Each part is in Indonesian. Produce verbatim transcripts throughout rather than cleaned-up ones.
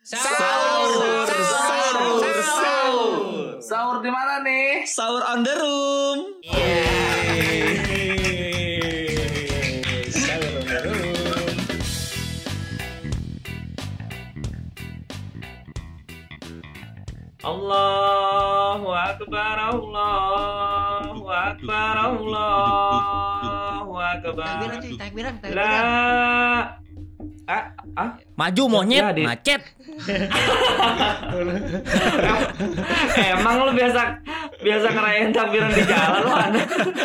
Sahur, sahur, sahur. Sahur di mana nih? Sahur on the room. Yeay. Sahur on the room. Allahu Akbar, Allahu Akbar, Allahu Akbar. Takbiran cuy, takbiran, takbiran. La ah, ah. Maju monyet, Ya, di- macet. Emang lu biasa biasa ngerayain takbiran di jalan lu ada.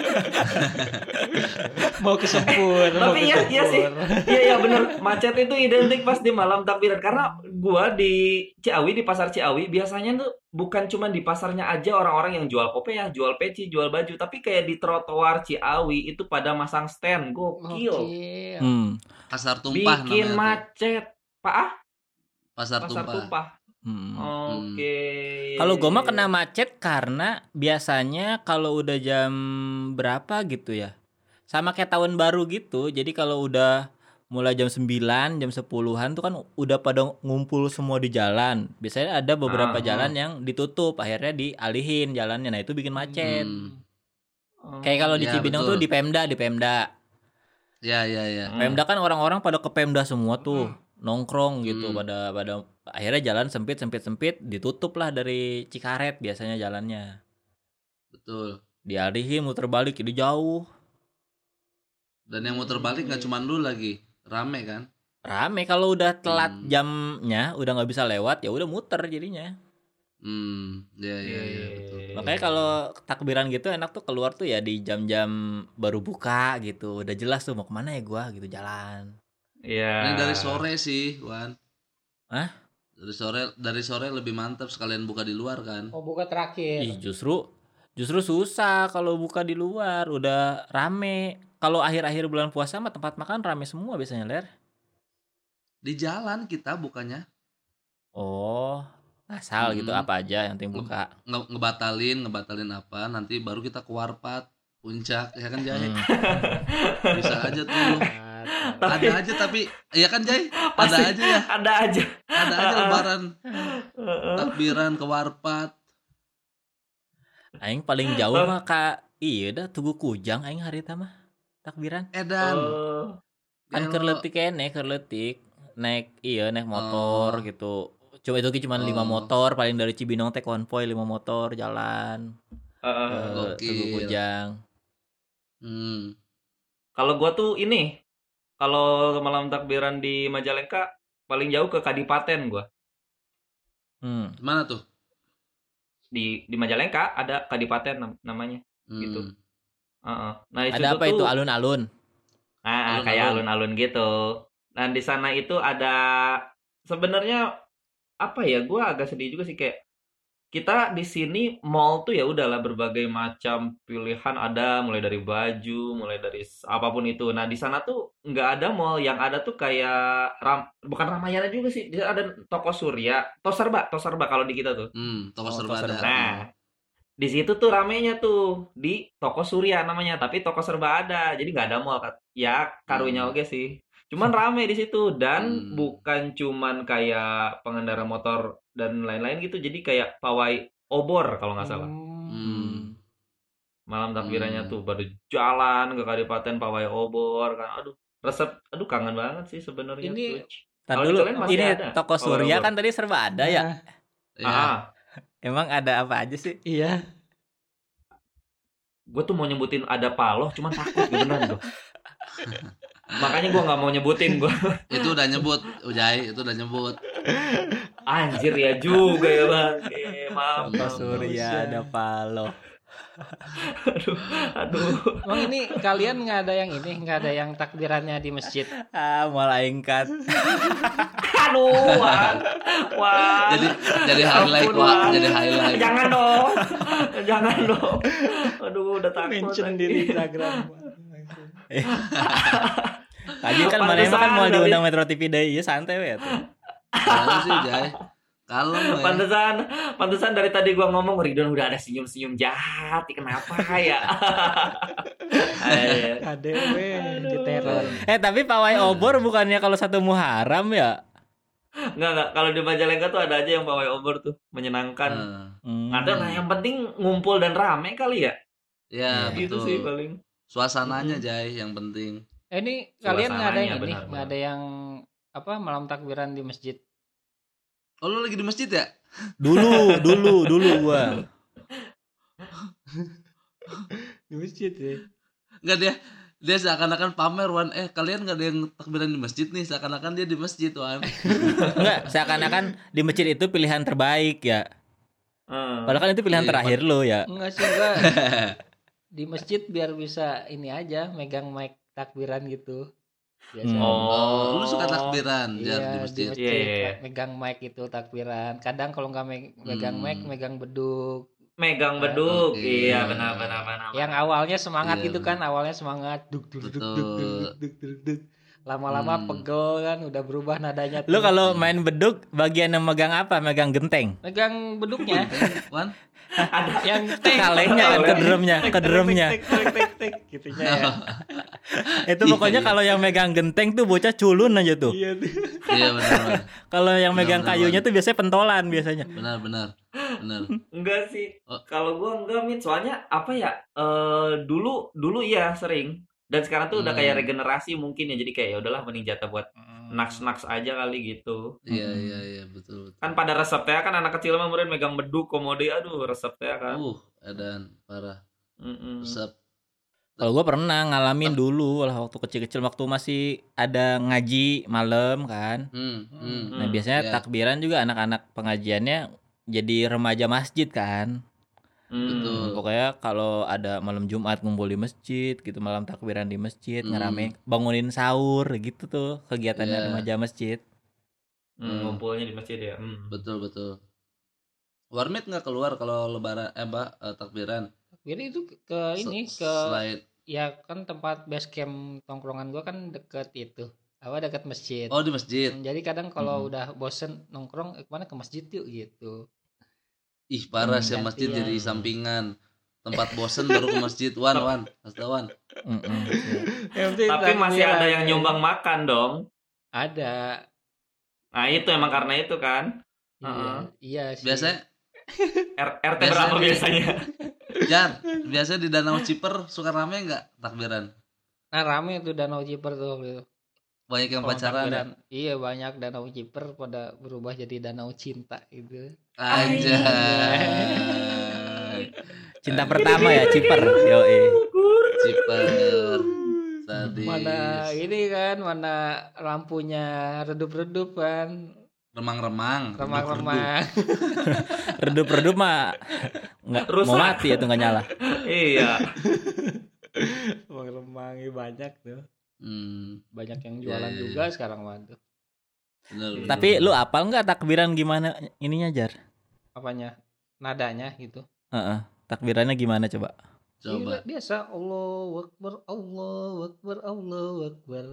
Mau kesempur. Tapi iya iya sih. Iya iya benar. Macet itu identik pas di malam takbiran karena gua di Ciawi, di pasar Ciawi biasanya tuh bukan cuma di pasarnya aja orang-orang yang jual kopiah, jual peci, jual baju, tapi kayak di trotoar Ciawi itu pada masang stand. Gokil. Oke. Hmm. Pasar tumpah Bikin namanya tuh. macet. Pak ah? Pasar, Pasar tumpah. tumpah. Hmm. Oke. Kalau gue mah kena macet karena biasanya kalau udah jam berapa gitu ya, sama kayak tahun baru gitu. Jadi kalau udah mulai jam sembilan, jam sepuluhan tuh kan udah pada ngumpul semua di jalan. Biasanya ada beberapa Ah, jalan yang ditutup, akhirnya dialihin jalannya. Nah itu bikin macet. Hmm. Oh. Kayak kalau di Ya, Cibinong betul. tuh di Pemda, di Pemda. Ya ya ya. Hmm. Pemda kan orang-orang pada ke Pemda semua tuh, nongkrong gitu, Hmm. pada pada akhirnya jalan sempit sempit sempit ditutup lah dari Cikaret biasanya jalannya. Betul. Dialihin muter balik jadi jauh. Dan yang muter balik nggak cuma lu lagi, rame kan? Rame kalau udah telat Hmm. jamnya, udah nggak bisa lewat ya udah muter jadinya. Hmm, ya ya ya betul. Makanya kalau takbiran gitu enak tuh keluar tuh ya di jam-jam baru buka gitu. Udah jelas tuh mau kemana ya gua gitu jalan. Iya. Ini dari sore sih, Wan. Hah? Dari sore dari sore lebih mantap sekalian buka di luar kan. Oh, buka terakhir. Ih justru justru susah kalau buka di luar udah rame. Kalau akhir-akhir bulan puasa mah tempat makan rame semua biasanya Ler. Di jalan kita bukanya. Oh, asal gitu Hmm. apa aja yang penting buka. Nge- ngebatalin, ngebatalin apa, nanti baru kita ke Warpat, Puncak, ya kan Jay? Hmm. Bisa aja tuh. Tapi- Ada aja tapi ya kan Jay? Ada Pasti aja ya. Ada aja. Ada aja lebaran takbiran ke Warpat. Aing paling jauh mah Kak, iya dah Tugu Kujang aing harita mah takbiran. Edan. Oh. Kan Gelo. kerletik kene, kerletik naik iya naik motor Oh. gitu. Coba itu cuma lima Oh. motor paling dari Cibinong teh konvoy lima motor jalan Heeh. ke Gokil. Tugu Kujang. Hmm. Kalau gua tuh ini, kalau malam takbiran di Majalengka paling jauh ke Kadipaten gua. Hmm. Mana tuh? Di di Majalengka ada Kadipaten nam- namanya. Hmm. Gitu. Heeh. Nah, di Ada situ apa tuh itu alun-alun? Nah, Alun-alun. kayak alun-alun gitu. Dan di sana itu ada sebenarnya apa ya? Gua agak sedih juga sih kayak kita di sini mall tuh ya udahlah berbagai macam pilihan ada mulai dari baju, mulai dari s- apapun itu. Nah, di sana tuh nggak ada mall, yang ada tuh kayak ram, bukan Ramayana juga sih. Di sana ada toko Surya, Toserba, Toserba kalau di kita tuh. Hmm, toko Oh, serba toko ada. serba. Nah, di situ tuh ramenya tuh di toko Surya namanya, tapi toko serba ada. Jadi nggak ada mall Kak. Ya, karunya Hmm. oke sih. Cuman rame di situ dan Hmm. bukan cuman kayak pengendara motor dan lain-lain gitu. Jadi kayak pawai obor kalau nggak salah. Hmm. Malam takbirannya Hmm. tuh baru jalan ke Kadipaten pawai obor kan. Aduh, resep aduh kangen banget sih sebenarnya Ini- tuh. Tar Kalau di dulu, kalian masih ini ada toko pawai Surya obor? kan tadi serba ada ya. Ya. Ah, Emang ada apa aja sih? Iya. gue tuh mau nyebutin ada paloh, cuman takut beneran gue. Makanya gue nggak mau nyebutin gue. Itu udah nyebut, Ujai, itu udah nyebut. Anjir ya juga ya bang. Eh, maaf. Toko maaf. Surya ada palo. Aduh, aduh. Emang ini kalian nggak ada yang ini, nggak ada yang takbirannya di masjid. Ah, malah ingkat. Aduh, Wan. Wan. Jadi jadi highlight, Ampun, Wak, Wan. jadi highlight. Jangan dong. Jangan dong. Aduh, udah takut. Mention lagi. di Instagram. Tadi kan mana emang kan mau Pantesan, diundang Metro T V deh, iya santai we atuh. Kalau sih, Jai. Kalau ya. Pantesan, pantesan dari tadi gua ngomong Ridwan udah ada senyum-senyum jahat. Kenapa ya? Ayo. A D W di teror. Eh tapi pawai obor bukannya kalau satu Muharram ya? Enggak enggak. Kalau di Majalengka tuh ada aja yang pawai obor tuh menyenangkan. Nah, Hmm. Ada nah yang penting ngumpul dan rame kali ya. ya Gitu betul. sih paling. Suasananya Mm-mm. Jai yang penting. Eh, ini kalian nggak ada yang Suasananya, ini, benar, nggak ada yang apa malam takbiran di masjid? Oh lu lagi di masjid ya? Dulu, dulu, dulu gua. Di masjid ya. Enggak dia dia seakan-akan pamer Wan. Eh kalian nggak ada yang takbiran di masjid nih, seakan-akan dia di masjid Wan. Enggak, seakan-akan di masjid itu pilihan terbaik ya. Hmm. Padahal kan itu pilihan Iya, terakhir lo ya. Enggak sih enggak. Di masjid biar bisa ini aja megang mic takbiran gitu. Biasa. Hmm. Oh, lu suka takbiran Jar Iya, di masjid. di Iya, iya, iya. megang mic itu takbiran. Kadang kalau nggak me- megang Hmm. mic, megang beduk. Megang beduk. Oke. Iya benar benar benar. Yang awalnya semangat Iya, gitu kan, awalnya semangat duk duk duk duk duk duk duk duk duk. Lama-lama Hmm. pegel kan, udah berubah nadanya. Lu tuh. kalau main beduk bagian yang megang apa? Megang genteng. megang beduknya, Wan, yang Kalengnya kan ke drumnya, ke drumnya. Tek, tek, tek, tek, gitunya ya. Itu pokoknya Iya, kalau yang megang genteng tuh bocah culun aja tuh. Iya tuh. iya benar Wan. Kalau yang megang Benar, kayunya Wan. tuh biasanya pentolan biasanya. Benar benar. Benar. Enggak sih. Oh. Kalau gua enggak Mit, soalnya apa ya? Eh dulu dulu iya sering. Dan sekarang tuh udah kayak Hmm. regenerasi mungkin ya. Jadi kayak ya udahlah mending jatah buat naks-naks aja kali gitu. Iya Hmm. iya iya betul betul. Kan pada resepnya kan anak kecil mah kemudian megang beduk komode, aduh resepnya kan. Uh, edan parah. Mm-mm. Resep. Kalau gue pernah ngalamin dulu lah waktu kecil-kecil waktu masih ada ngaji malam kan. Hmm, hmm. Nah Hmm, biasanya iya. takbiran juga anak-anak pengajiannya jadi remaja masjid kan. Hmm. Betul. Pokoknya kalau ada malam Jumat ngumpul di masjid gitu, malam takbiran di masjid, Hmm. ngerame bangunin sahur gitu tuh kegiatannya Iya. remaja masjid. Hmm, ngumpulnya di masjid ya. Hmm. Betul betul. Warmit nggak keluar kalau lebaran eh apa eh, takbiran? Jadi itu ke ini Se- ke selain ya kan tempat base camp tongkrongan gua kan deket itu. Apa deket masjid. oh di masjid. Hmm, Jadi kadang kalau Hmm. udah bosen nongkrong eh, kemana ke masjid yuk gitu. Ih parah Hmm, sih masjid gantian. jadi sampingan. Tempat bosen baru ke masjid. Wan wan, kasih tau, Wan. Mm-mm, iya. Tapi masih ada yang nyumbang makan dong. Ada. Nah itu emang karena itu kan. Iya, Heeh. iya sih. Biasanya R- R T Biasanya berapa di- biasanya? Jar, biasanya di Danau Ciper suka rame nggak takbiran? Nah rame tuh Danau Ciper tuh gitu. Banyak yang Kalau pacaran ya? takbiran. Iya banyak Danau Ciper pada berubah jadi Danau Cinta gitu. Anjay. Cinta pertama ya Ciper. Yoi. Ciper. Sadis. Mana ini kan, mana lampunya redup-redup kan, Remang-remang. remang-remang. Redup-redup mah nggak mau Rusak. mati itu nggak nyala. Iya. Remang-remang ini banyak tuh. Hmm, Banyak yang Iya, jualan iya, juga sekarang mah tuh. benar, benar. Tapi lu apal nggak takbiran gimana ininya Jar? Apanya? Nadanya gitu. Heeh. Takbirannya gimana coba? Coba. Iya, biasa Allahu Akbar, Allahu Akbar, Allahu Akbar.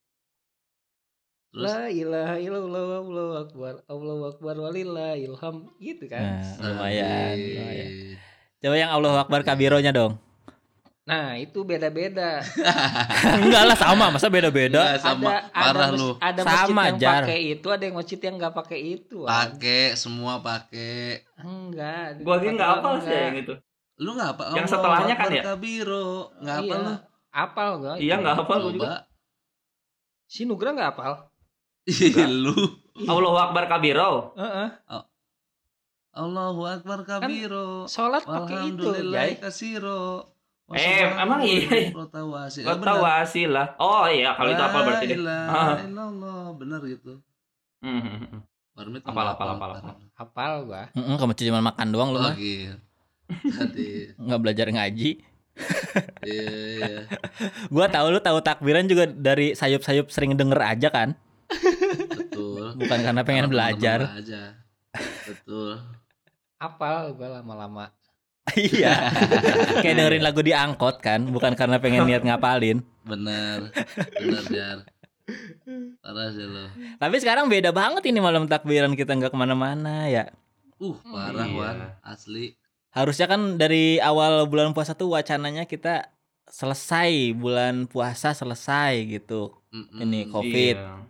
Terus La ilaha illallah, Allahu Akbar, Allahu Akbar walillahilham gitu kan. Nah, lumayan, Sadis. lumayan. Coba yang Allahu Akbar kabironya dong. Nah, itu beda-beda. Enggak lah sama, masa beda-beda? Enggak, sama. ada Parah mas- lu. Ada Sama, masjid yang Jar. pakai itu, ada yang masjid yang nggak pakai itu. Wan. Pakai semua pakai. Enggak. Gua aja nggak hafal sih enggak. yang itu. Lu nggak apa? Yang setelahnya kan ya? Kabiro. Nggak apa Iya. lu? Apal gua. Iya nggak hafal gua juga. Coba. Si Nugra nggak apal. Ih, lu. Allahu Akbar kabiro. Heeh. Allahu Akbar kabiro. Sholat pakai itu, Walhamdulillahi Jay. kasiro. Eh, emang iya? Protawasi. Gak tahu hasil lah. Oh iya kalau itu apa berarti deh. Ah. Allah, benar gitu. Hmm. Warmit Apal, nggak apal, hafal apal, sekarang. Apal gua. Heeh, kamu cuma makan doang lu Oh mah. gitu. Tadi. Nggak belajar ngaji. Iya, iya. Gua tahu lu tahu takbiran juga dari sayup-sayup sering denger aja kan? Betul. Bukan karena pengen Sama belajar. teman-teman aja. Betul. Apal gua lama-lama. Iya. Kayak dengerin lagu di angkot kan, bukan karena pengen niat ngapalin. Bener. Bener, Jar. Parah sih lo. Tapi sekarang beda banget ini malam takbiran kita nggak kemana-mana ya. Uh, parah, Iya. Wan. Asli. Harusnya kan dari awal bulan puasa tuh wacananya kita selesai bulan puasa selesai gitu. Mm-mm. Ini COVID. Iya.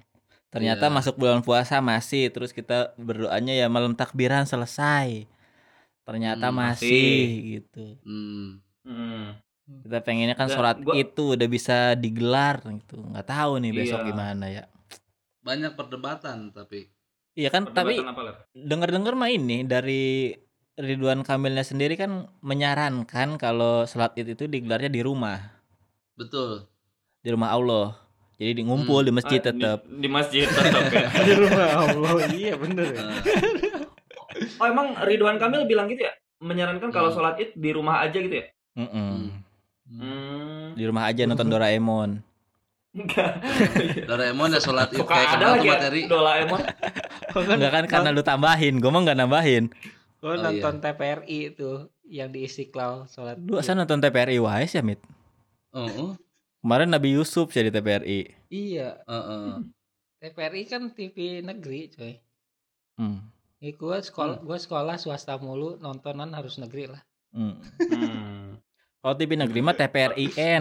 Ternyata Iya. masuk bulan puasa masih, terus kita berdoanya ya malam takbiran selesai. Ternyata Hmm, masih masih. gitu. Hmm. Hmm. Kita pengennya kan Dan sholat gua itu udah bisa digelar gitu. Nggak tahu nih besok iya, gimana ya. Banyak perdebatan tapi. Iya kan, perdebatan tapi apa Ler? denger-denger mah ini dari Ridwan Kamilnya sendiri kan menyarankan kalau sholat id itu digelarnya di rumah, Betul. di rumah Allah. Jadi di ngumpul Hmm. di masjid Ah, di, tetap. di masjid tetap ya. Di rumah Allah. Iya bener ya. Nah, Oh emang Ridwan Kamil bilang gitu ya? Menyarankan kalau hmm. sholat id di rumah aja gitu ya? Mm-mm. Hmm. Hmm. Di rumah aja nonton Doraemon. Enggak. Doraemon ya sholat id Kok kayak ada kemana lagi tuh ya materi. Doraemon? Enggak kan karena lu tambahin, gue mah nggak nambahin. Gue Oh, nonton iya. T P R I itu yang di Istiqlal sholat. Lu asal nonton T P R I Wise ya, Mit? Oh, oh. Kemarin Nabi Yusuf jadi T P R I. Iya, Heeh. T P R I kan T V negeri, coy. Hmm. Ya, gue sekolah, gue sekolah swasta mulu, nontonan harus negeri lah. Hmm. Hmm. Kalau T V negeri mah T P R I N.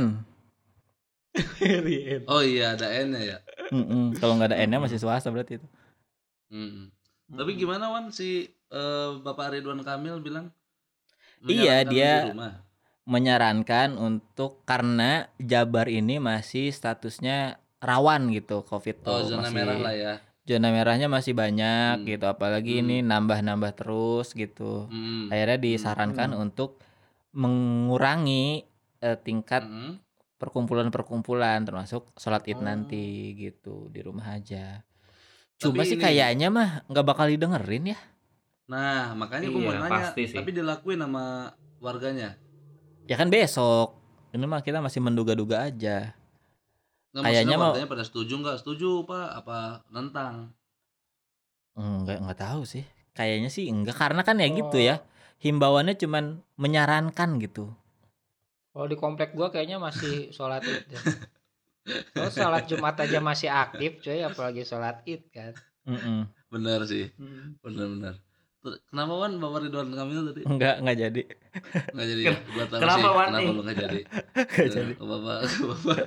Oh iya ada N-nya ya. Mm-mm. Kalau nggak ada N-nya masih swasta berarti itu. Hmm. Tapi gimana Wan si eh, Bapak Ridwan Kamil bilang? Iya, menyarankan dia di rumah. menyarankan untuk karena Jabar ini masih statusnya rawan gitu COVID tuh. Oh zona masih merah lah ya. zona merahnya masih banyak Hmm. gitu, apalagi Hmm. ini nambah-nambah terus gitu. Hmm. Akhirnya disarankan Hmm. untuk mengurangi eh, tingkat Hmm. perkumpulan-perkumpulan termasuk sholat id Oh. nanti gitu di rumah aja. Tapi Cuma sih ini- kayaknya mah nggak bakal didengerin ya. Nah makanya gue mau Iya, nanya. pasti sih. Tapi dilakuin sama warganya. Ya kan besok. Ini mah kita masih menduga-duga aja. Nggak, Kayaknya maksudnya mau- warganya pada setuju nggak? Setuju pak? Apa nentang? Enggak nggak tahu sih. Kayaknya sih enggak karena kan ya gitu Oh. ya. Himbauannya cuman menyarankan gitu. Kalau di komplek gua kayaknya masih sholat id deh. Kalau sholat Jumat aja masih aktif, coy, apalagi sholat id kan. Mm-mm. Bener sih. Hmm. Bener-bener. Ter- Kenapa Wan Bapak Ridwan Kamil tadi? Enggak enggak jadi. Nggak jadi ya? Gua tahu Kenapa, sih Wan, kenapa nih? lu nggak jadi. Enggak jadi. Ke bapak, ke bapak.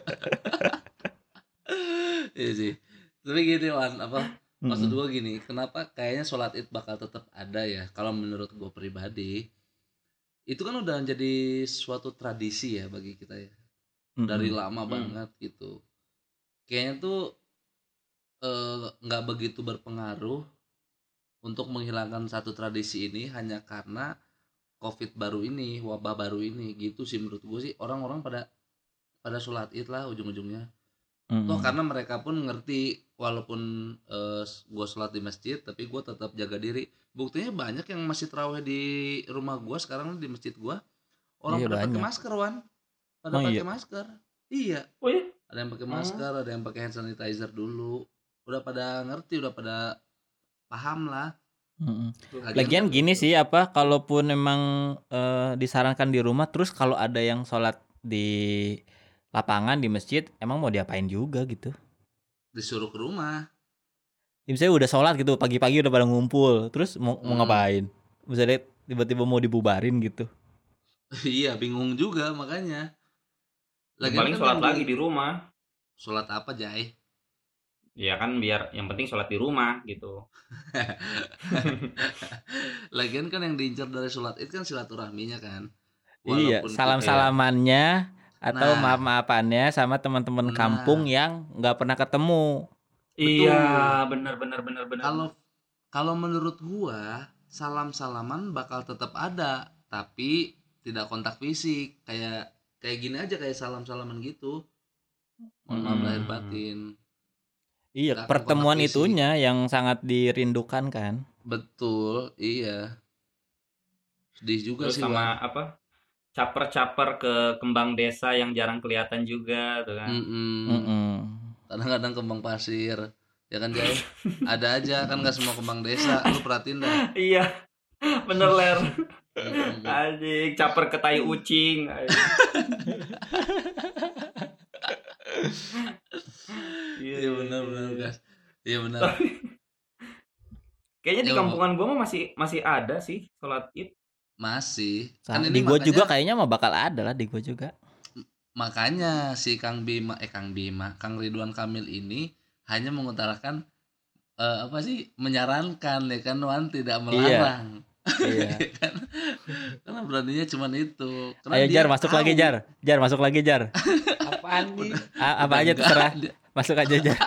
Iya sih. Tapi gini Wan, apa? Maksud Mm-mm. gua gini, kenapa kayaknya sholat id bakal tetap ada ya? Kalau menurut gua pribadi, itu kan udah jadi suatu tradisi ya bagi kita ya. Dari Mm-mm. lama Hmm. banget gitu. Kayaknya tuh eh, nggak begitu berpengaruh untuk menghilangkan satu tradisi ini hanya karena COVID baru ini, wabah baru ini gitu sih menurut gue sih. Orang-orang pada pada sholat id lah ujung-ujungnya. Mm-mm. Toh karena mereka pun ngerti walaupun eh, gue sholat di masjid tapi gue tetap jaga diri. Buktinya banyak yang masih tarawih di rumah gue sekarang di masjid gue. Orang Iya, pada pakai banyak. masker Wan. Pada Oh, pakai iya? masker. Iya. Oh iya? Ada yang pakai Hmm. masker, ada yang pakai hand sanitizer dulu. Udah pada ngerti, udah pada paham lah. Mm-mm. Lagian Lagian kan- gini sih apa kalaupun memang eh, disarankan di rumah terus kalau ada yang sholat di lapangan di masjid emang mau diapain juga gitu. disuruh ke rumah. Ya, misalnya udah sholat gitu pagi-pagi udah pada ngumpul terus mau, mau Hmm. ngapain? Misalnya tiba-tiba mau dibubarin gitu. Iya, bingung juga makanya. Lagian Paling kan sholat yang lagi di rumah. Sholat apa, Jai? Ya kan biar yang penting sholat di rumah gitu. Lagian kan yang diincar dari sholat itu kan silaturahminya kan. Iya, Walaupun kita- salam-salamannya atau Nah. maaf-maafannya sama teman-teman Nah. kampung yang nggak pernah ketemu. Iya, benar benar benar benar. Kalau kalau menurut gua salam-salaman bakal tetap ada, tapi tidak kontak fisik. Kayak kayak gini aja kayak salam-salaman gitu. Mohon maaf Hmm. lahir batin. Iya, Nggak akan pertemuan kontak fisik. itunya yang sangat dirindukan kan. Betul, iya. Sedih juga Terus sih sama Wan. apa? Caper-caper ke kembang desa yang jarang kelihatan juga tuh kan. Mm-mm. Mm-mm. Kadang-kadang kembang pasir, ya kan Jai? Ada aja kan nggak semua kembang desa. Lu perhatiin dah. Iya. Bener ler. Mm-mm. Anjing, caper ke tai ucing. Iya benar benar guys. Iya benar. Kayaknya di Ya, kampungan gua mah masih masih ada sih sholat id. Masih. Sa- Kan di ini gua makanya, juga kayaknya mah bakal ada lah di gua juga. makanya si Kang Bima eh Kang Bima, Kang Ridwan Kamil ini hanya mengutarakan eh, apa sih menyarankan ya kan Wan, tidak melarang. Iya. Ya kan? Karena beraninya cuman itu. Karena Ayo dia Jar masuk tahu. lagi Jar. Jar masuk lagi Jar. Apaan nih? A- apa Udah aja enggak, terserah. dia- Masuk aja Jar.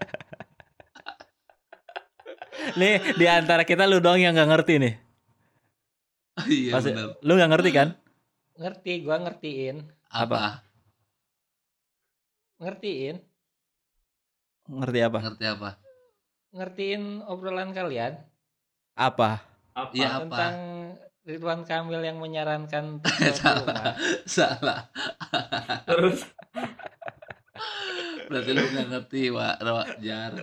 Nih di antara kita lu doang yang nggak ngerti nih. Iya Pasti- benar. lu nggak ngerti kan? Ngerti, gua ngertiin. Apa? Ngertiin. Ngerti apa? Ngerti apa? Ngertiin obrolan kalian Apa? Apa? Iya apa? tentang Ridwan Kamil yang menyarankan untuk Salah. keluar rumah. Salah. Terus Berarti lu nggak ngerti, Wak. Wak Jar.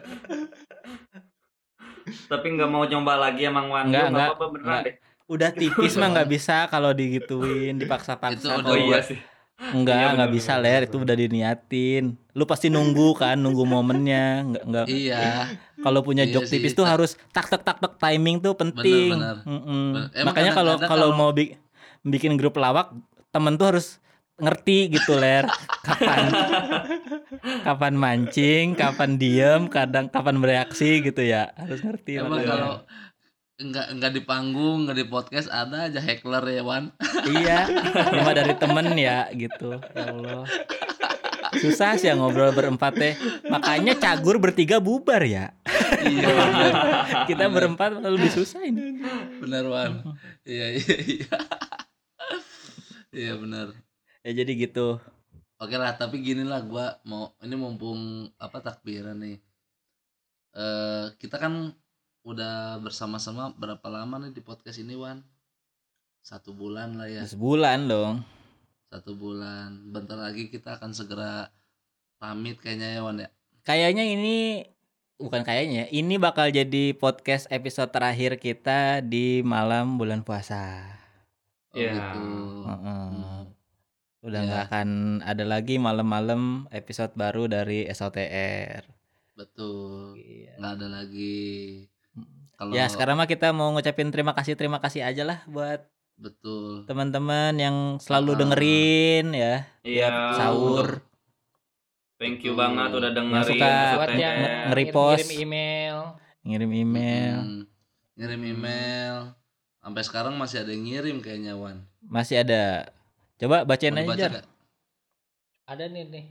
tapi nggak mau coba lagi emang Wan. Enggak, Lu enggak, apa-apa beneran enggak. deh. Udah tipis mah nggak bisa kalau digituin, Itu dipaksa-paksa. udah Oh Kalau- iya buat- sih. Enggak, Iya, enggak bener, bisa bener, Ler, bener, itu udah diniatin. Lu pasti nunggu kan, nunggu momennya. Enggak enggak. Iya. Kalau punya Iya joke sih, tipis tuh tak- harus tak tak tak tak timing tuh penting. Bener, bener. Mm-mm. Bener. Emang Makanya kalau kadang-kadang kalau kalau- mau bi- bikin grup lawak, temen tuh harus ngerti gitu Ler. Kapan kapan mancing, kapan diem, kadang kapan bereaksi gitu ya. Harus ngerti. Emang makanya. kalau enggak enggak di panggung, enggak di podcast ada aja heckler ya, Wan. Iya, cuma dari temen ya gitu. Ya Allah. Susah sih ya ngobrol berempat teh. Makanya cagur bertiga bubar ya. Iya, bener. Kita berempat lebih susah ini. Benar, Wan. Iya, iya, iya. Iya, benar. Ya jadi gitu. Oke lah, tapi gini lah, gua mau ini mumpung apa takbiran nih. Eh kita kan udah bersama-sama berapa lama nih di podcast ini, Wan? Satu bulan lah ya. Sebulan dong. Satu bulan. Bentar lagi kita akan segera pamit kayaknya ya, Wan ya. Kayaknya ini bukan kayaknya, ini bakal jadi podcast episode terakhir kita di malam bulan puasa. Oh, Iya. gitu. Heeh. Hmm. Udah Ya. nggak akan ada lagi malam-malam episode baru dari S O T R. Betul. Iya. Nggak ada lagi. Kalau Ya sekarang mah kita mau ngucapin terima kasih terima kasih aja lah buat betul. teman-teman yang selalu Ah. dengerin ya. Iya. Tiap sahur. Thank you Betul. banget udah dengerin. Yang suka S O T R. Buat yang nge- nge-repost. ngirim email. Ngirim email. Mm-mm. Ngirim email. Sampai sekarang masih ada yang ngirim kayaknya, Wan. Masih ada. Coba bacain Mau aja dibaca Jar. nggak? Ada nih nih.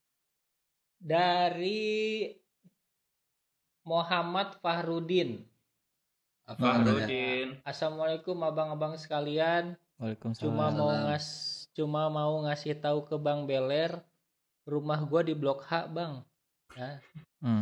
Dari Muhammad Fahrudin. Apa katanya? Fahrudin. Assalamualaikum abang-abang sekalian. Waalaikumsalam. Cuma mau Salam. ngas cuma mau ngasih tahu ke Bang Beler, rumah gua di Blok H, Bang. Nah, Hmm.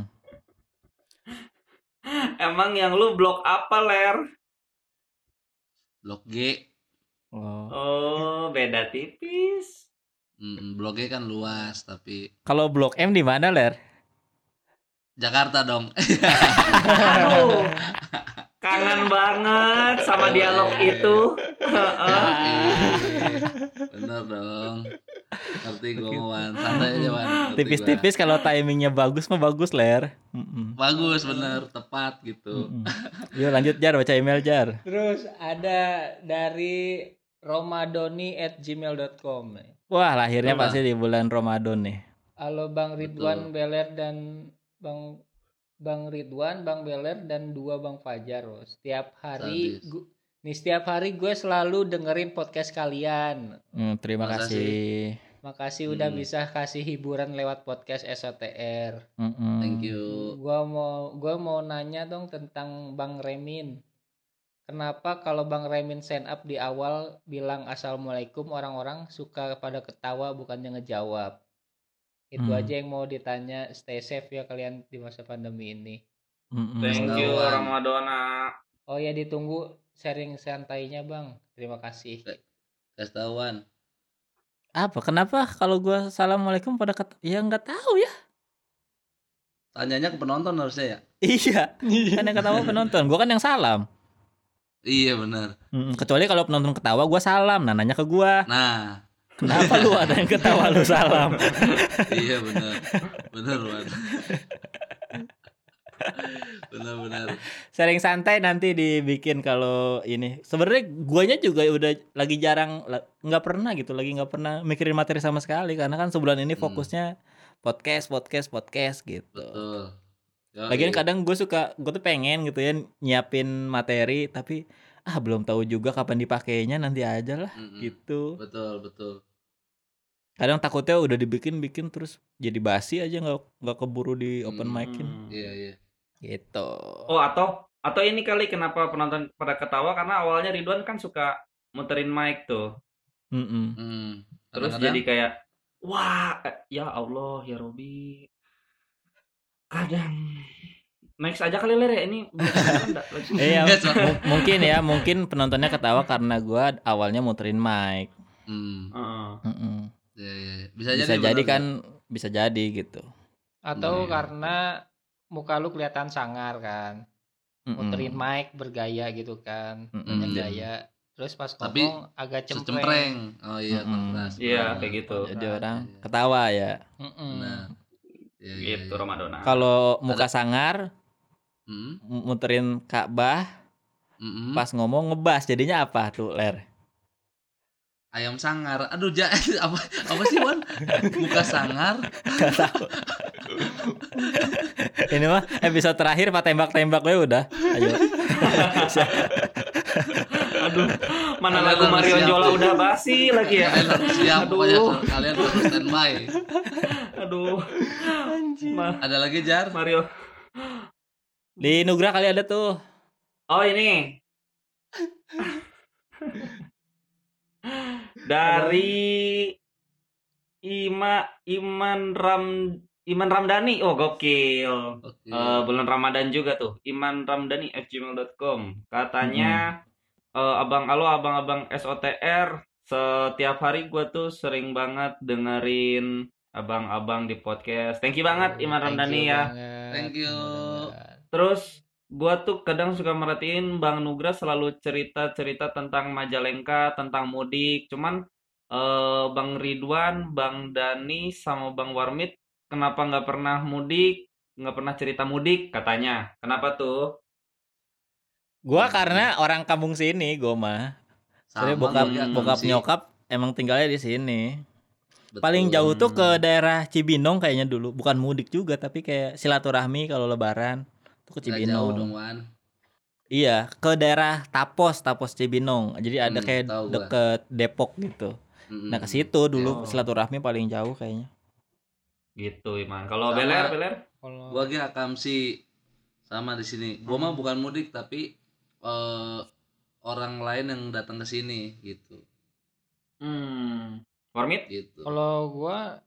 Emang yang lu blok apa, Ler? Blok G. Oh. Oh, beda tipis. Mm, Blok G kan luas tapi Kalau Blok M di mana, Ler? Jakarta dong. Aduh. Kangen banget sama dialog itu. Heeh. Eh, Bener dong. Ngerti gue, Wan. Santai aja, Wan. Ngerti gua. Tipis-tipis kalau timingnya bagus mah bagus, Ler. Mm-mm. Bagus, bener, tepat gitu. Mm-mm. Yuk lanjut Jar, baca email Jar. terus ada dari romadoni at gmail dot com. Wah, lahirnya Coba. pasti di bulan Ramadan nih. Halo Bang Ridwan Betul. Beler dan Bang Bang Ridwan, Bang Beler dan dua Bang Fajar. Oh, setiap hari Sadis. gu- nih setiap hari gue selalu dengerin podcast kalian. Hmm, terima Masa kasih. Makasih udah Hmm. bisa kasih hiburan lewat podcast S O T R. Mm-mm. Thank you. Gua mau gua mau nanya dong tentang Bang Remin. Kenapa kalau Bang Remin stand up di awal bilang assalamualaikum orang-orang suka pada ketawa bukannya ngejawab? Itu Hmm. aja yang mau ditanya. Stay safe ya kalian di masa pandemi ini. Mm-mm. Thank you Selawan. Ramadona. Oh ya ditunggu sharing santainya Bang. Terima kasih. Kasih tahu, Wan. Apa? Kenapa kalau gua assalamualaikum pada ket... ya nggak tahu ya. Tanyanya ke penonton harusnya ya. Iya. Kan yang ketawa penonton. Gua kan yang salam. Iya benar. Mm-mm. Kecuali kalau penonton ketawa gua salam, nah nanya ke gua. Nah, Kenapa lu ada yang ketawa lu salam? iya benar. Benar, Wan. Benar-benar. Sharing santai nanti dibikin kalau ini. Sebenarnya guanya juga udah lagi jarang la- nggak pernah gitu, lagi nggak pernah mikirin materi sama sekali karena kan sebulan ini Hmm. fokusnya podcast, podcast, podcast gitu. Betul. Yoi. Lagian kadang gue suka, gue tuh pengen gitu ya nyiapin materi, tapi ah belum tahu juga kapan dipakainya, nanti aja lah Mm-mm. gitu. Betul, betul. Kadang takutnya udah dibikin-bikin terus jadi basi aja, nggak nggak keburu di open Hmm. mic-in Hmm. Iya, iya. gitu. Oh, atau atau ini kali kenapa penonton pada ketawa karena awalnya Ridwan kan suka muterin mic tuh. Mm-mm. Hmm. Terus Kadang-kadang jadi kayak wah, eh, ya Allah, ya Robi. Kadang next aja kali Ler ya ini beneran enggak lagi. Iya, Nggak, so- mu- mungkin ya, mungkin penontonnya ketawa karena gue awalnya muterin mic. Hmm. Heeh. Mm-mm. Iya, iya. Bisa, Bisa jadi jadi benar, kan, bisa jadi gitu. Atau Hmm. karena muka lu kelihatan sangar kan. Mm-mm. Muterin mic bergaya gitu kan. Mm-mm. Banyak Iya. gaya. Terus pas Tapi ngomong agak cempreng. Secempreng. Oh iya, Mm-mm. kontras. Iya, Benar. kayak gitu. Jadi orang Iya. ketawa ya. Mm-mm. Benar. Iya, iya, Gitu iya. Ramadona. Kalau muka sangar, Hmm. m- muterin Ka'bah, Mm-mm. pas ngomong ngebas, jadinya apa tuh Ler? Ayam sangar. Aduh, ja, apa apa sih, Wan? Muka sangar. Gak tahu. Ini mah episode terakhir pak tembak-tembak gue udah. Ayo. Aduh, mana Kalian lagu harus Marion siap. Jola udah basi lagi ya. Kalian harus siap, Aduh. pokoknya kalian harus standby. Aduh. Ma- Ada lagi, Jar? Mario. Di Nugra kali ada tuh. Oh, ini. Dari Ima Iman Ram Iman Ramdhani. Oh, gokil. Oke. Eh, bulan Ramadan juga tuh. Iman Ramdhani at gmail dot com. Katanya eh, Abang Alo, abang-abang S O T R, setiap hari gue tuh sering banget dengerin abang-abang di podcast. Thank you banget Iman Thank Ramdhani you ya. banget. Thank you. Mudah-mudahan. Terus gua tuh kadang suka merhatiin Bang Nugra selalu cerita-cerita tentang Majalengka, tentang mudik. Cuman eh, Bang Ridwan, Bang Dani, sama Bang Warmit kenapa nggak pernah mudik, nggak pernah cerita mudik katanya. Kenapa tuh? Gua karena orang kampung sini, gua mah. Soalnya Sama bokap gue, bokap sih. nyokap emang tinggalnya di sini. Betul. Paling jauh tuh ke Hmm. daerah Cibinong kayaknya dulu. Bukan mudik juga, tapi kayak silaturahmi kalau lebaran. Tuh ke Nggak jauh dong, Cibinong. Wan. Iya, ke daerah Tapos, Tapos Cibinong. Jadi ada Hmm, kayak tahu gua. deket Depok gitu. Mm-mm. Nah, ke situ dulu Oh. silaturahmi paling jauh kayaknya. Gitu Iman. Kalau Sama. Beler, Beler? Kalau Gua ge akamsi sama di sini. Gua mah bukan mudik tapi eh, orang lain yang datang ke sini gitu. Hmm. Warmit? Gitu. kalau gua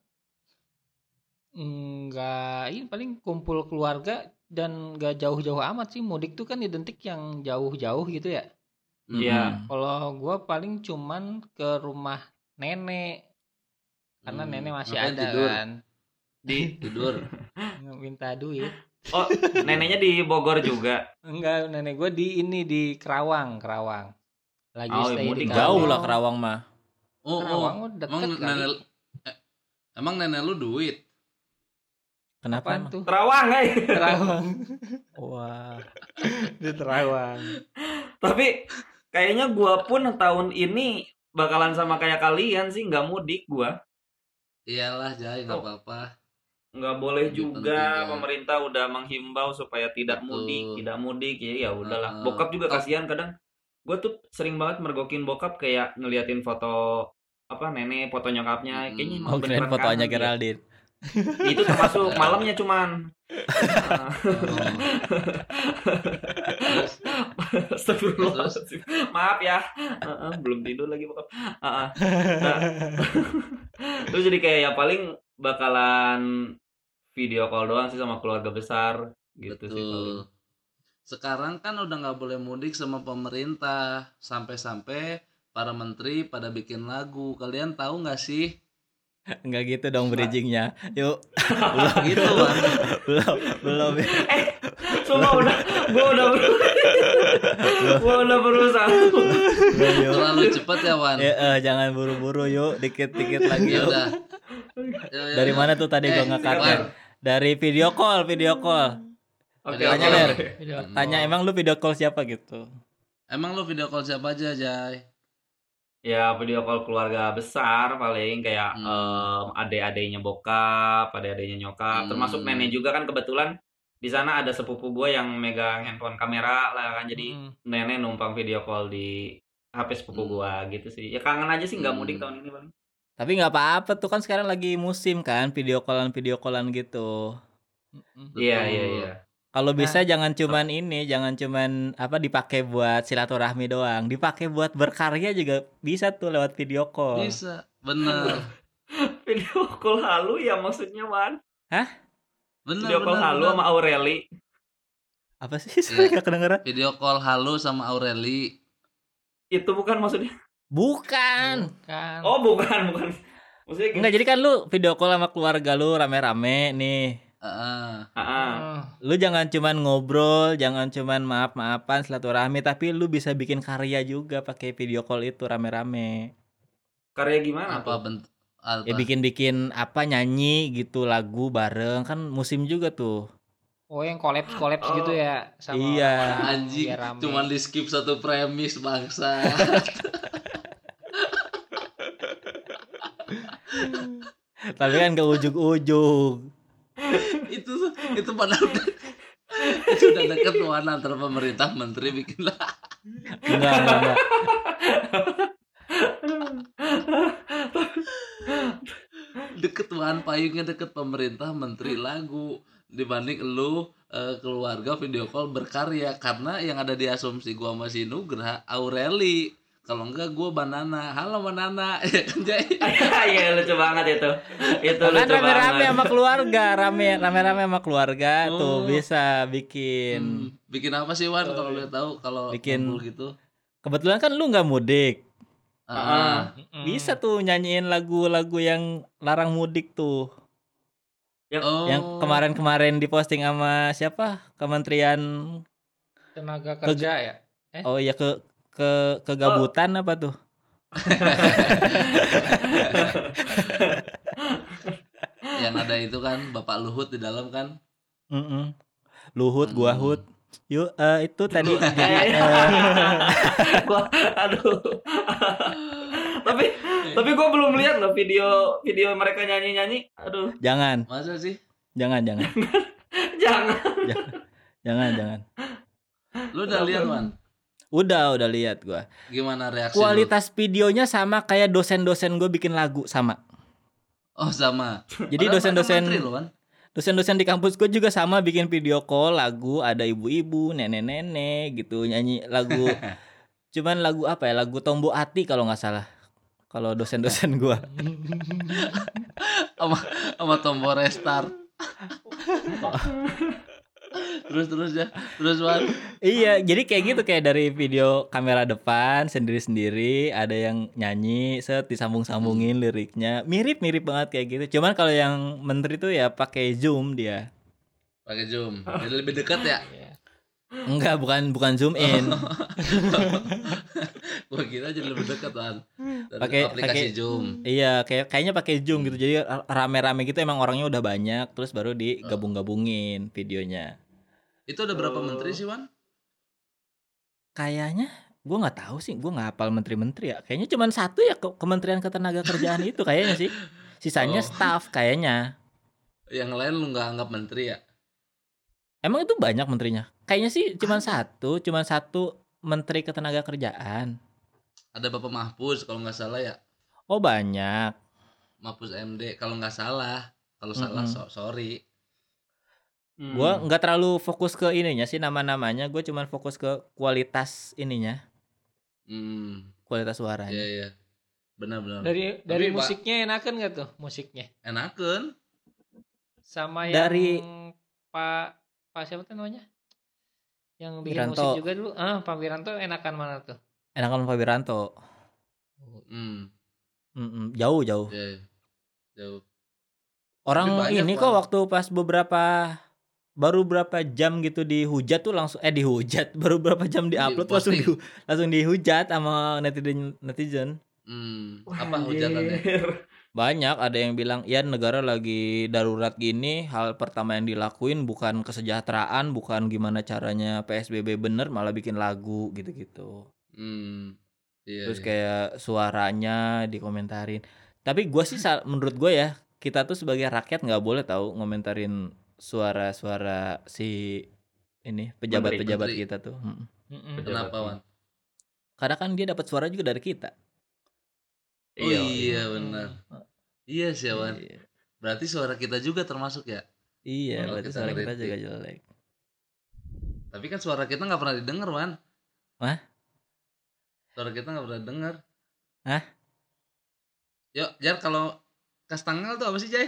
enggak, ini paling kumpul keluarga dan enggak jauh-jauh amat sih. Mudik tuh kan identik yang jauh-jauh gitu ya. Mm-mm. Iya. Kalau gua paling cuman ke rumah nenek karena Hmm, nenek masih ngapain ada tidur? kan. Di Tidur. Minta duit. Oh, neneknya di Bogor juga. Enggak, nenek gua di ini di Kerawang, Kerawang. Lagi Oh, stay di mudik Jauh Kerawang. lah Kerawang mah. Oh, Kerawang oh. mah deket Emang kali. nenek eh, emang nenek lu duit? Kenapa Apaan emang? tuh? Terawang, eh. Terawang. Wah. Di Terawang. Tapi kayaknya gua pun tahun ini bakalan sama kayak kalian sih, nggak mudik gua. Iyalah, Jai, nggak Oh. apa-apa. Nggak boleh Lebih juga, penting ya. pemerintah udah menghimbau supaya tidak Betul. mudik, tidak mudik. Ya ya udahlah. Uh-uh. Bokap juga Oh. kasihan kadang. Gua tuh sering banget mergokin bokap kayak ngeliatin foto apa nenek, foto nyokapnya. Mm-mm. Kayaknya emang Oh, kirain beneran fotonya kangen dia. Geraldine. Itu termasuk malamnya cuman. Oh. Terus, Astagfirullahaladzim. Maaf ya. Heeh, belum tidur lagi bokap. Heeh. Nah, terus jadi kayak ya paling bakalan video call doang sih sama keluarga besar gitu sih paling. betul. Sekarang kan udah nggak boleh mudik sama pemerintah. Sampai-sampai para menteri pada bikin lagu. Kalian tahu nggak sih? Enggak gitu dong bridgingnya. Yuk. Belum gitu, Wan. belum, belum. Semua udah, gua udah, gua udah berusaha. Belum, yuk. Terlalu cepat ya, Wan. Ya, eh, jangan buru-buru yuk, dikit-dikit lagi Ya yuk. udah. Ya, ya, Dari ya. mana tuh tadi Eh, gua ngekatnya? Wan. Dari video call, video call. Oke, Tanya, oke, Ler. oke. Hmm. Tanya emang lu video call siapa gitu? Emang lu video call siapa aja, Jai? Ya video call keluarga besar paling kayak Hmm. em, adik-adiknya bokap, adik-adiknya nyokap, Hmm. termasuk nenek juga kan kebetulan di sana ada sepupu gue yang megang handphone kamera lah kan, jadi Mm-mm. nenek numpang video call di H P sepupu Hmm. gue gitu sih. Ya kangen aja sih nggak mudik Hmm. tahun ini paling. Tapi nggak apa-apa tuh kan sekarang lagi musim kan video callan video callan gitu. Mm-mm. Iya Betul. iya iya. Kalau Nah. bisa jangan cuman ini, jangan cuman apa dipakai buat silaturahmi doang, dipakai buat berkarya juga bisa tuh lewat video call. Bisa, bener. Video call halu ya maksudnya Wan. Bener, Video call bener, halu bener. sama Aureli. Apa sih? Saya Iya. nggak kedengeran. Video call halu sama Aureli. Itu bukan maksudnya. Bukan. Bukan. Oh bukan bukan. Maksudnya gitu. Enggak, jadi kan lu video call sama keluarga lu rame-rame nih. Heeh. Ah, Oh. Lu jangan cuman ngobrol, jangan cuman maaf-maafan silaturahmi, tapi lu bisa bikin karya juga pakai video call itu rame-rame. karya gimana Apa tuh? bentuk apa? Ya bikin-bikin apa nyanyi gitu lagu bareng kan musim juga tuh. Oh, yang kolaps kolaps Oh. gitu ya sama Iya. orang-orang Anjing, biar rame. cuman di skip satu premis bangsa. Tapi kan ke ujung-ujung. itu itu padahal itu udah deket tuh antara pemerintah menteri bikin lah. Enggak, enggak, enggak. Deket tuan payungnya deket pemerintah menteri lagu dibanding lu eh, keluarga video call berkarya, karena yang ada di asumsi gua masih Nugra Aureli, kalau enggak gua Banana. Halo Banana. Ya kan Jay? Iya lucu banget itu. Itu Kan lucu rame-rame banget. sama keluarga, rame rame-rame sama keluarga tuh Oh. bisa bikin. Hmm, bikin apa sih Wan kalau lu tahu kalau Bikin- kumpul gitu? Kebetulan kan lu nggak mudik. Ah, Mm-mm. Bisa tuh nyanyiin lagu-lagu yang larang mudik tuh. Yang oh, Yang kemarin-kemarin diposting sama siapa? Kementerian Tenaga kerja ya. Eh? Oh iya ke ke kegabutan apa tuh? yang ada itu kan Bapak Luhut di dalam kan. Mm-mm. Luhut, gua Hmm. hut. Yuk eh, itu tadi jadi Eh, eh, Gua, aduh. tapi tapi gue belum lihat loh video video mereka nyanyi nyanyi. Aduh, jangan, Masa sih? jangan, jangan, jangan. jangan, jangan. Lu udah lihat Wan? Udah, udah lihat gua. Gimana reaksi lu? Kualitas videonya sama kayak dosen-dosen gue bikin lagu sama. Oh sama. Jadi Padahal dosen-dosen mereka menteri loh, Wan. dosen-dosen di kampus gue juga sama bikin video call lagu, ada ibu-ibu, nenek-nenek gitu nyanyi lagu. Cuman lagu apa ya? Lagu Tombo Ati kalau nggak salah. Kalau dosen-dosen gue. sama sama tombol restart. terus terus ya terus Wan. Iya, jadi kayak gitu kayak dari video kamera depan sendiri-sendiri, ada yang nyanyi, set disambung-sambungin liriknya, mirip-mirip banget kayak gitu. Cuman kalau yang menteri tuh ya pakai zoom dia. Pakai zoom jadi lebih dekat ya. Iya. Enggak, bukan bukan zoom in. Gua kira jadi lebih dekat Wan dari Pakai- aplikasi pakai- zoom. Iya, kayak kayaknya pakai zoom gitu. Jadi rame-rame gitu emang orangnya udah banyak, terus baru digabung-gabungin videonya. Itu ada berapa Oh. menteri sih Wan? Kayaknya gue nggak tahu sih, gue nggak hafal menteri-menteri ya. Kayaknya cuma satu ya ke- Kementerian Ketenagakerjaan itu kayaknya sih. Sisanya Oh. staff kayaknya. Yang lain lu nggak anggap menteri ya? Emang itu banyak menterinya? Kayaknya sih cuma satu, cuma satu Menteri Ketenagakerjaan. Ada Bapak Mahfuz kalau nggak salah ya. Oh banyak. Mahfuz M D kalau nggak salah. Kalau salah Mm-mm. so- sorry. Hmm. Gue nggak terlalu fokus ke ininya sih nama-namanya. Gue cuma fokus ke kualitas ininya, Hmm, kualitas suaranya. iya iya. Benar-benar. Dari dari Pak- musiknya enakan gak tuh musiknya? Enakeun. Sama Dari- yang Pak Pak siapa tuh namanya? Yang bikin Wiranto. musik juga dulu. Ah, Pak Wiranto enakan mana tuh? Enakan Pak Wiranto. Hmm, Mm-mm, jauh jauh. iya. iya. Jauh. Orang Tapi banyak, ini Bang. kok waktu pas beberapa baru berapa jam gitu dihujat tuh langsung eh dihujat baru berapa jam diupload langsung Di-posting. di, langsung dihujat sama netizen netizen. Hmm, Wah, apa hujatannya? anjir. Banyak ada yang bilang ya negara lagi darurat gini, hal pertama yang dilakuin bukan kesejahteraan, bukan gimana caranya P S B B bener, malah bikin lagu gitu-gitu. Hmm. Iya. Terus iya. kayak suaranya dikomentarin. Tapi gua sih sa- menurut gue ya, kita tuh sebagai rakyat nggak boleh tahu ngomentarin suara-suara si ini pejabat-pejabat Menteri. kita tuh. Mm. Mm-mm. Kenapa, Wan? Karena kan dia dapat suara juga dari kita. Oh Iya. iya benar. Iya sih, Wan. Iya, Berarti suara kita juga termasuk ya? iya Kalau berarti kita suara kita ngeritik. juga jelek. Tapi kan suara kita nggak pernah didengar, Wan. Hah? Suara kita nggak pernah dengar. Hah? Yuk, Jar, kalau Kastangel tuh apa sih, Jay?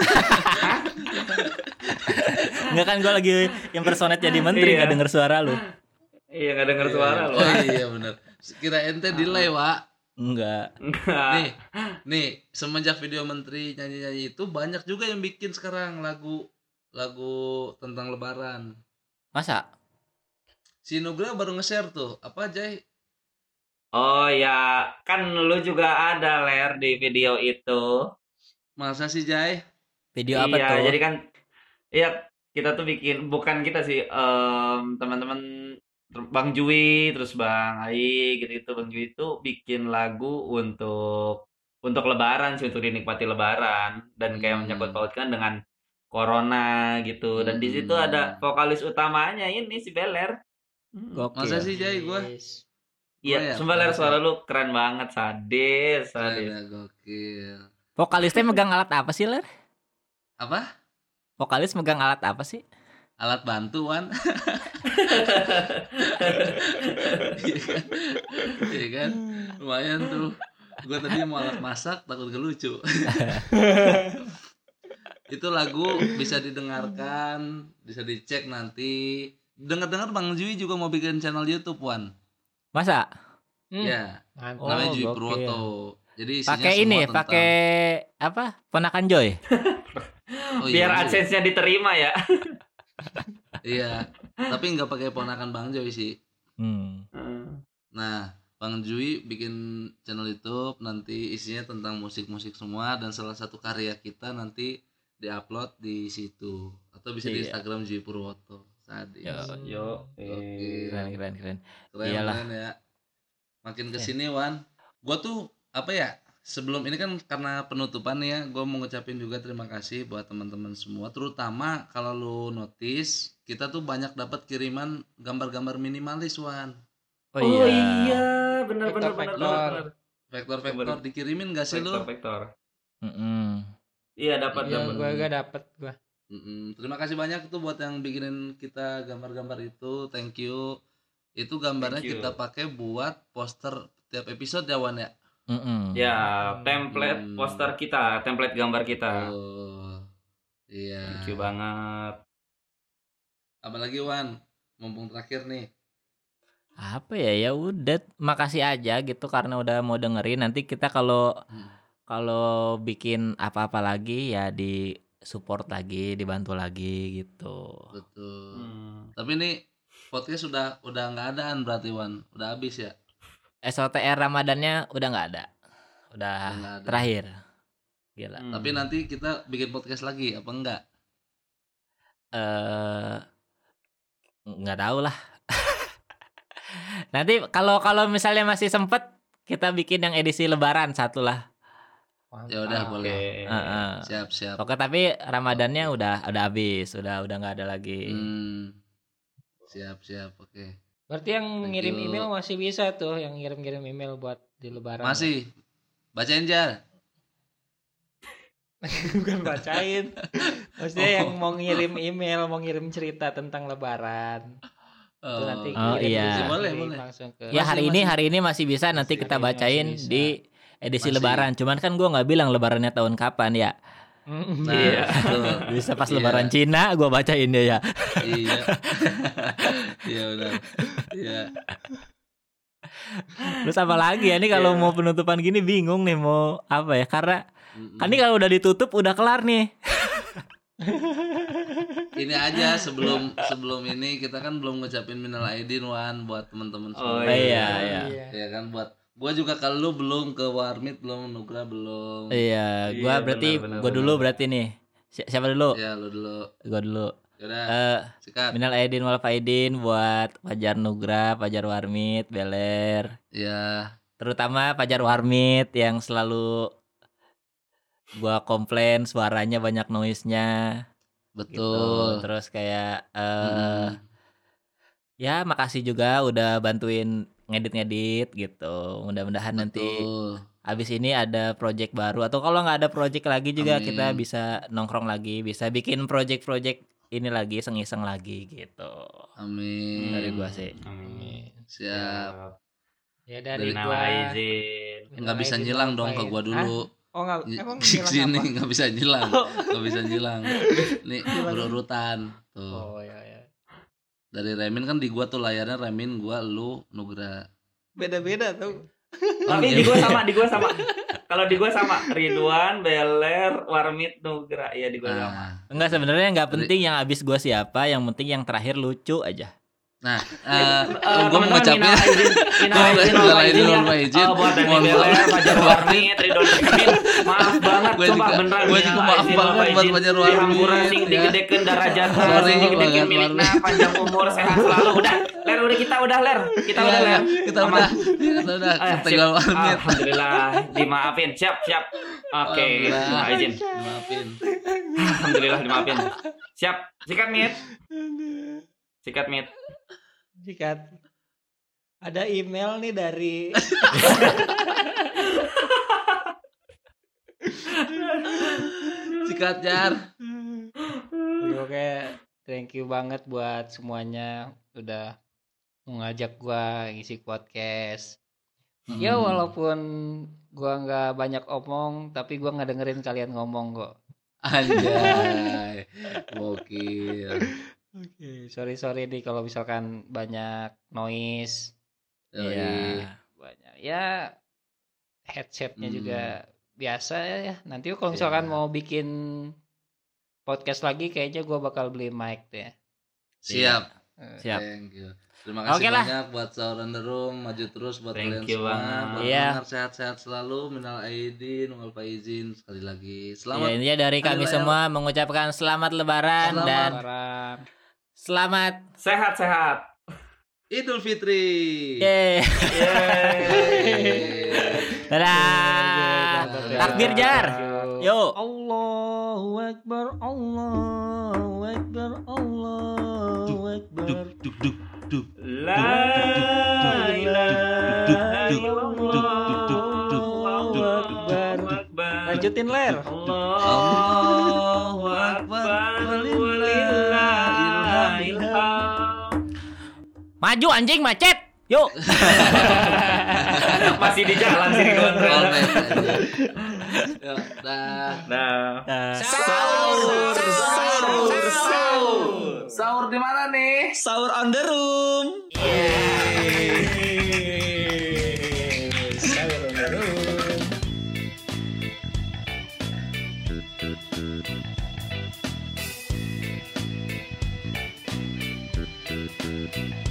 Enggak kan gue lagi impersonate jadi menteri Iya. nggak denger suara lu. Iya nggak dengar suara loh. Oh iya benar. Kira ente delay, Wak. Enggak. Enggak. Nih, nih semenjak video menteri nyanyi-nyanyi itu banyak juga yang bikin sekarang lagu lagu tentang lebaran. Masa? Si Nugra baru nge-share tuh. Apa, Jay? Oh ya, kan lu juga ada Ler di video itu. Masa sih, Jay? Video apa Iya, tuh? jadi kan iya kita tuh bikin bukan kita sih em, teman-teman ter- Bang Jui terus Bang Ai gitu-gitu Bang Jui itu bikin lagu untuk untuk Lebaran sih untuk dinikmati Lebaran dan kayak Hmm. menyangkut pautkan dengan Corona gitu dan di situ Hmm. ada vokalis utamanya ini si Beler. Gokil. Masa sih, Jay? Gua Yes. Gua Iya, ya, sumpah Ler masa. suara lu keren banget, sadis, sadis. ada gokil. Vokalisnya megang alat apa sih, Ler? Apa? Vokalis megang alat apa sih? Alat bantu, Wan. Iya kan? Iya kan? Lumayan tuh. Gue tadi mau alat masak takut gak lucu. Itu lagu bisa didengarkan, bisa dicek nanti. Dengar-dengar Bang Jui juga mau bikin channel YouTube, Wan. Masa? Hmm, Ya, mantap. namanya Oh, Jui gokil. Purwoto. Jadi isinya Pakai semua ini, tentang- pakai apa? Ponakan Joy. Oh, Biar iya, AdSense-nya diterima ya. Iya, tapi nggak pakai ponakan Bang Jui sih. Hmm. Nah, Bang Jui bikin channel YouTube nanti isinya tentang musik-musik semua dan salah satu karya kita nanti diupload di situ atau bisa di Iya. Instagram Jui Purwoto. Sadis. Yo, Yo, Oke. Keren, keren, keren. Keren, Iyalah. keren ya. Makin kesini Wan, gua tuh apa ya? Sebelum ini kan karena penutupan ya, gue mau ngucapin juga terima kasih buat teman-teman semua. Terutama kalau lu notice, kita tuh banyak dapat kiriman gambar-gambar minimalis Wan. Oh, Oh iya. iya, benar benar benar Vektor-vektor. benar. Vektor-vektor dikirimin gak sih lu? Vektor vektor. Mm-mm. Iya dapat Iya, dapat. gua gak dapet gua. Mm-mm. Terima kasih banyak tuh buat yang bikinin kita gambar-gambar itu. Thank you. Itu gambarnya Thank you. kita pakai buat poster tiap episode ya Wan ya. Mm-mm. Ya, template Hmm. poster kita, template gambar kita. Oh. Iya. Thank you banget. Apalagi Wan, mumpung terakhir nih. Apa ya? Ya udah, makasih aja gitu karena udah mau dengerin. Nanti kita kalau Hmm. kalau bikin apa-apa lagi ya di support lagi, dibantu lagi gitu. Betul. Hmm. Tapi ini podcast sudah udah nggak adaan berarti Wan, udah habis ya. S O T R Ramadannya udah nggak ada, udah Udah nggak ada. terakhir. Gila. Hmm. Tapi nanti kita bikin podcast lagi apa enggak? Eh, nggak tahu lah. Nanti kalau kalau misalnya masih sempet kita bikin yang edisi Lebaran satu lah. Ya udah Mantap. boleh. Heeh. Siap siap. Oke, tapi Ramadannya udah udah habis, udah udah nggak ada lagi. Hmm. Siap siap oke. Berarti yang Thank ngirim you. email masih bisa tuh, yang ngirim-ngirim email buat di lebaran. Masih. Bacain Jar. Bukan bacain. Maksudnya Oh. yang mau ngirim email, mau ngirim cerita tentang lebaran. Itu nanti Oh, kirim iya. aja, Boleh, kirim boleh. langsung ke Ya Masih, hari ini masih. hari ini masih bisa, nanti Masih, kita hari ini bacain masih bisa. di edisi Masih. Lebaran. Cuman kan gua nggak bilang Lebarannya tahun kapan ya. Mm, Nah, Iya. betul. Bisa pas Iya. Lebaran Cina gua bacain dia ya. Iya. Iya benar. Iya. Terus apa lagi ya, ini kalau Iya. mau penutupan gini bingung nih mau apa ya, karena Mm-mm. kan ini kalau udah ditutup udah kelar nih. Ini aja sebelum sebelum ini kita kan belum ngucapin minal aidin Wan buat teman-teman Oh, semua. iya, Oh, iya. iya. Ya kan buat gua juga kalau lu belum ke Warmit belum Nugra belum. Iya, gua Iya, berarti benar, benar, gua dulu benar. berarti nih. Si- siapa dulu? Ya lu dulu. Gua dulu. Yaudah, Eh, sikat. minal aidin wal faidin buat Fajar Nugra, Fajar Warmit, Beler. Ya, Terutama Fajar Warmit yang selalu gua komplain suaranya banyak noise-nya. Betul. gitu. Terus kayak eh Mm-mm. ya makasih juga udah bantuin ngedit-ngedit gitu. Mudah-mudahan nanti Betul. abis ini ada project baru atau kalau nggak ada project lagi juga kita Amin. bisa nongkrong lagi, bisa bikin project-project ini lagi iseng-iseng lagi gitu. Amin. Dari gua sih. Amin. Siap. Ya dari Dari Minal gua aizin. Nggak bisa Minal aidin nyilang wal dong ke faizin. gua Hah? dulu. Oh nggak, Ny- emang Di bilang sini apa? nggak bisa nyilang, nggak bisa nyilang. Nih Gimana? berurutan tuh. Oh ya ya. Dari Remin kan di gua tuh layarnya Remin, gua, lu, Nugra. Beda-beda tuh. Tapi iya. di gua sama, di gua sama. Kalau di gua sama Ridwan, Beler, Warmit, Nugra. Iya di gua sama. Nah, Enggak, sebenarnya nggak Jadi- penting yang abis gua siapa, yang penting yang terakhir lucu aja. nah, Eh, eh, eh, gua mau teman-teman, ngucapin minal aizin, minal aizin, Minal wal aizin, faizin ya. wal faizin. Eh, buat Dani Mohon Beler, maaf. Fajar Warmit, Ridwan Kamil. Maaf banget, Gua sumpah juga- beneran. gua juga minal maaf aizin, wal banget buat faizin. Fajar Warmit, Dihampura sing ya. digedekeun darajat, Sorry sing digedekeun banget, milikna, Warmit. panjang umur, sehat selalu. Udah, Ler udah kita udah Ler. Kita Iya, udah iya, Ler. kita Aman. udah, kita udah, Eh, kita sip. tinggal Warmit. Alhamdulillah, dimaafin. Siap, siap. Oke, Alhamdulillah. minal aizin. Maafin. Alhamdulillah dimaafin. Siap. Sikat Mit. Sikat Mit. Sikat. Ada email nih dari Sikat Jar. Oke, thank you banget buat semuanya udah mengajak gua ngisi podcast. Ya Hmm. walaupun gua nggak banyak omong, tapi gua nggak dengerin kalian ngomong kok. Anjay. Gokil. Oke, sorry sorry nih kalau misalkan banyak noise, Yoi. Iya. banyak ya headsetnya Hmm. juga biasa ya. Nanti kalau misalkan Siap. mau bikin podcast lagi, kayaknya gua bakal beli mic deh. Siap. Eh, Siap. Thank you. Terima kasih Oke lah. banyak buat Sahur on the Room, maju terus buat Thank kalian you semua. banget. Buat Iya. pendengar sehat-sehat selalu, minal aidin, wal faizin sekali lagi. Ya, Selamat intinya dari kami Hari Raya. semua mengucapkan selamat lebaran Selamat. dan Lebaran. selamat Sehat-sehat. Idul Fitri. Yeay. Yeay. Dadah. Dadah. Takbir Jar. Yuk. Allahu Akbar, Allahu Akbar, Allahu Akbar. Duk duk duk duk. La ilaha illallah. Allahu Akbar. Lanjutin Ler. Allahu Akbar. Walillahil hamd. Maju anjing macet. Yuk. Masih di jalan sih Ridwan. Oke. Yuk, dah. Nah. Sahur. Sahur. Sahur. Sahur di mana nih? Sahur on the room. Sahur on the room.